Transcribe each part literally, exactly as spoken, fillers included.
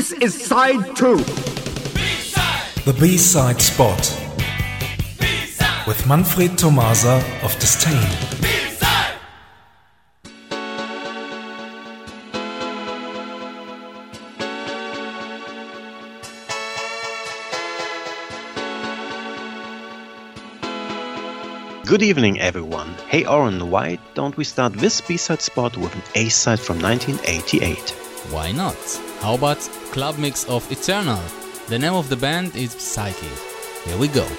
This is side two. B-side. The B-side spot. B-side. With Manfred Tomasa of Disdain. B-side. Good evening, everyone. Hey, Oren, why don't we start this B-side spot with an A-side from nineteen eighty-eight? Why not? How about Club Mix of Eternal? The name of the band is Psyche. Here we go.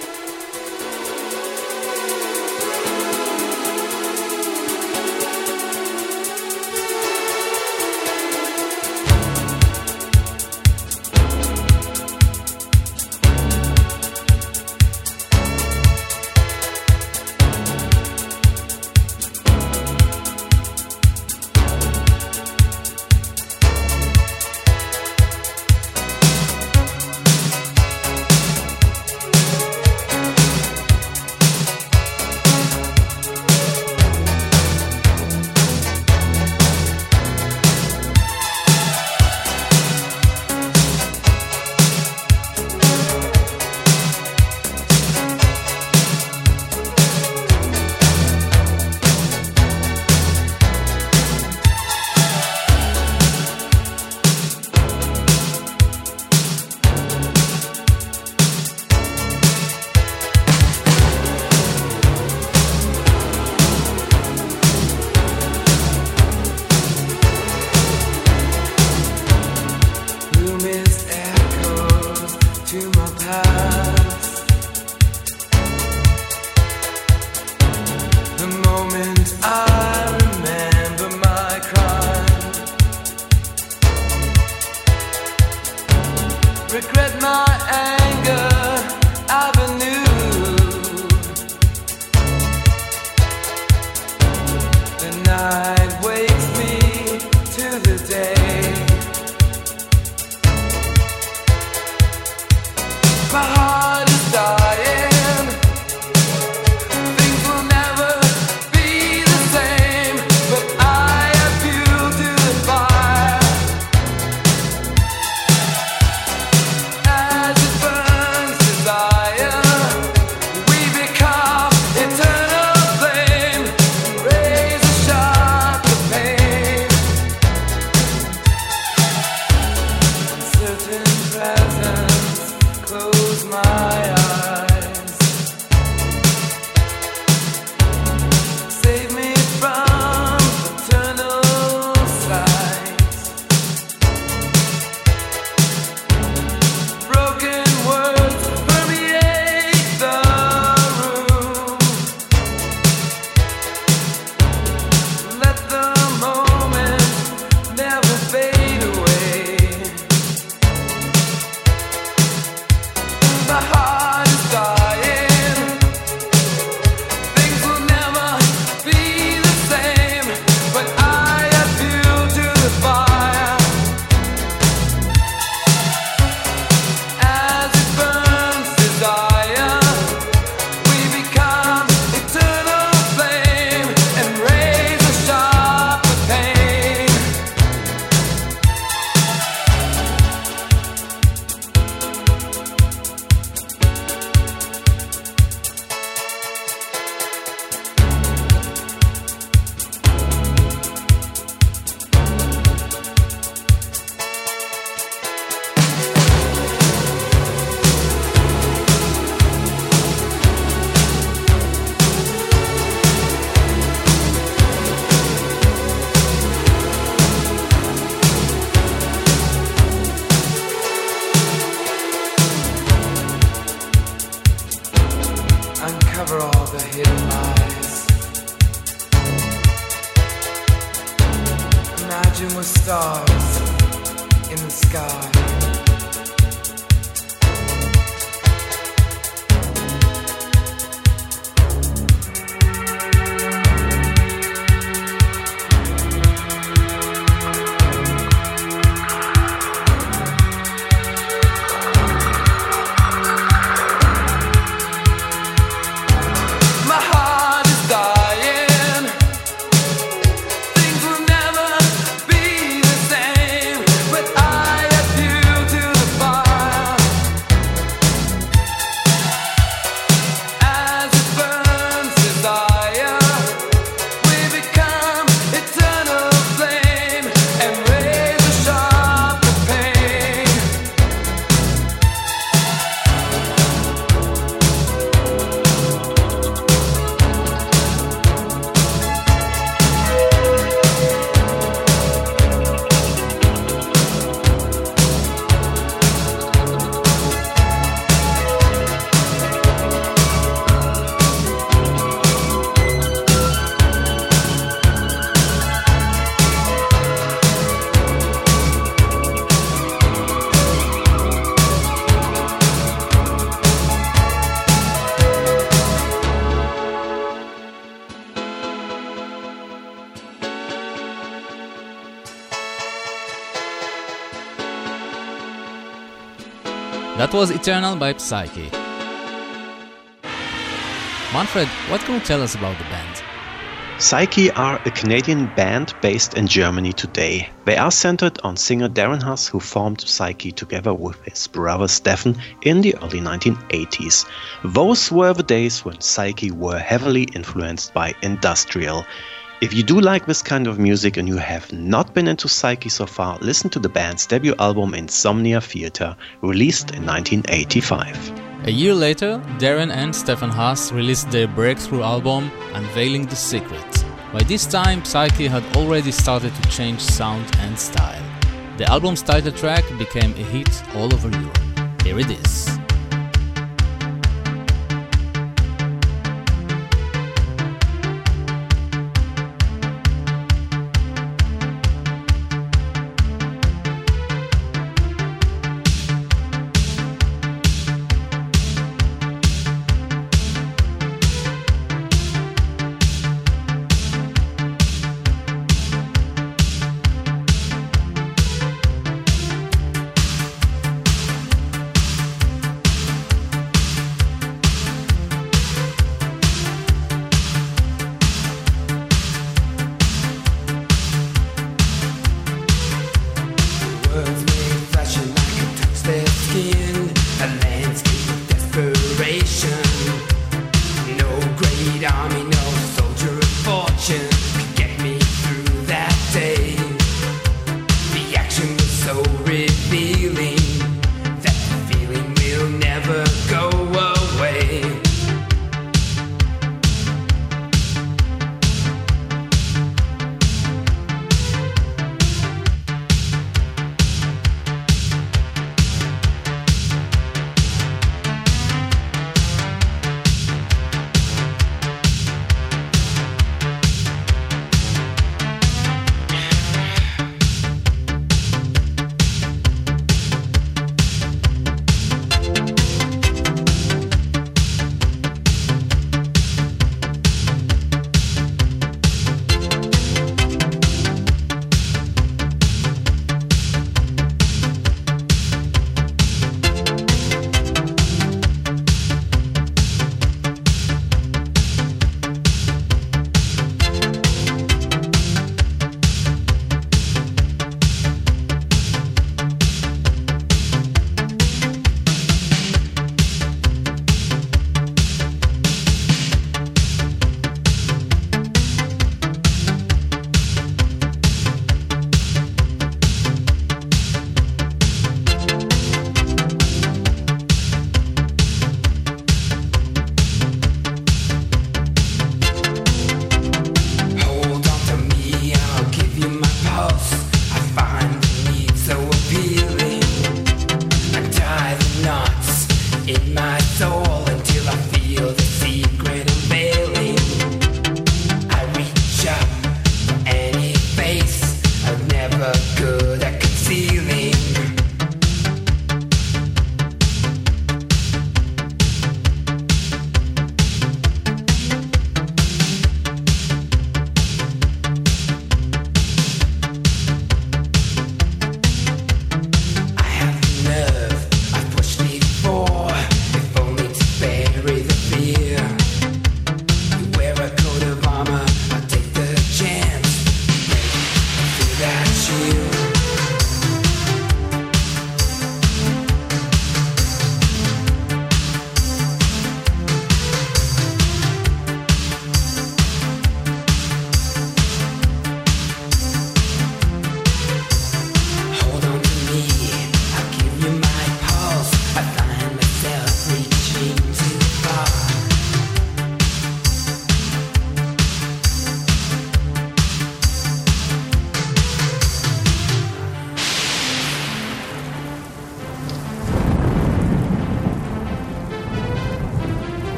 Things will never be the same. But I have you. That was Eternal by Psyche. Manfred, what can you tell us about the band? Psyche are a Canadian band based in Germany today. They are centered on singer Darren Huss, who formed Psyche together with his brother Stefan in the early nineteen eighties. Those were the days when Psyche were heavily influenced by industrial. If you do like this kind of music and you have not been into Psyche so far, listen to the band's debut album Insomnia Theater, released in nineteen eighty-five. A year later, Darren and Stefan Huss released their breakthrough album, Unveiling the Secret. By this time, Psyche had already started to change sound and style. The album's title track became a hit all over Europe. Here it is.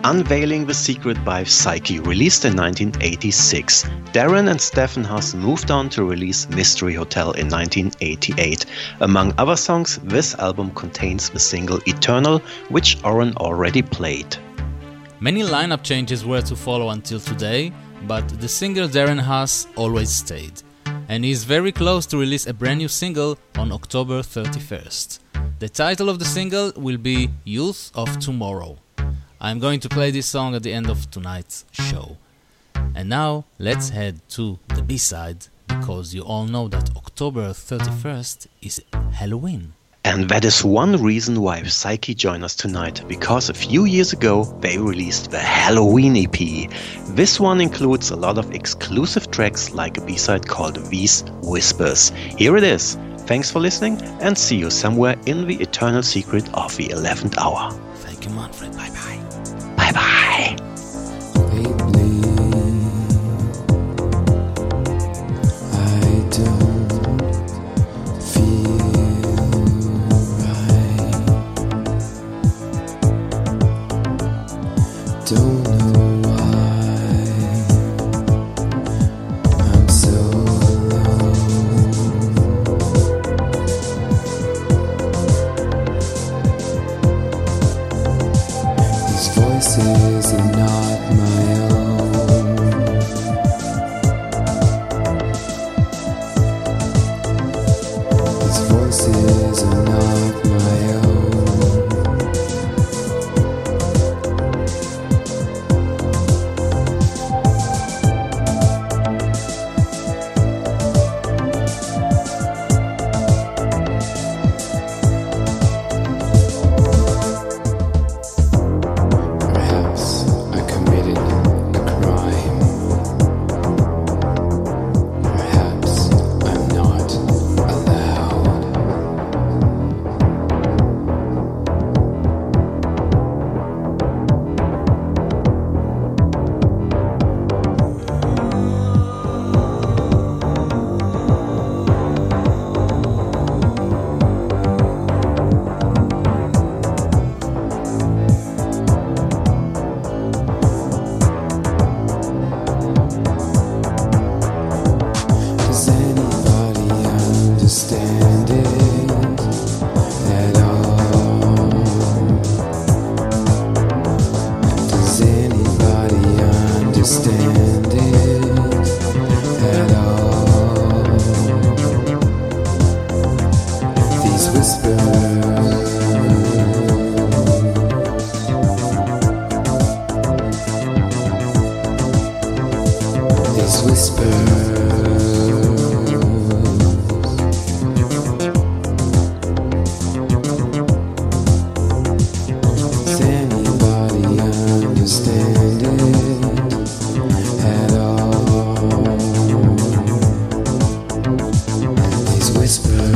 Unveiling the Secret by Psyche, released in nineteen eighty-six. Darren and Stephen Haas moved on to release Mystery Hotel in nineteen eighty-eight. Among other songs, this album contains the single Eternal, which Oren already played. Many lineup changes were to follow until today, but the singer Darren Haas always stayed. And he is very close to release a brand new single on October thirty-first. The title of the single will be Youth of Tomorrow. I'm going to play this song at the end of tonight's show. And now, let's head to the B-side, because you all know that October thirty-first is Halloween. And that is one reason why Psyche joined us tonight, because a few years ago they released the Halloween E P. This one includes a lot of exclusive tracks like a B-side called These Whispers. Here it is. Thanks for listening and see you somewhere in the eternal secret of the eleventh hour. Thank you, Manfred. Bye bye. Bye bye. Lately, I don't feel right. Don't know why I'm so alone. These voices are not my own. These voices are not my own. Perhaps I committed a crime. Perhaps I'm not allowed. Does anybody understand it at all? Does anybody understand it at all? These whispers, these whispers. Does anybody understand it at all? These whispers.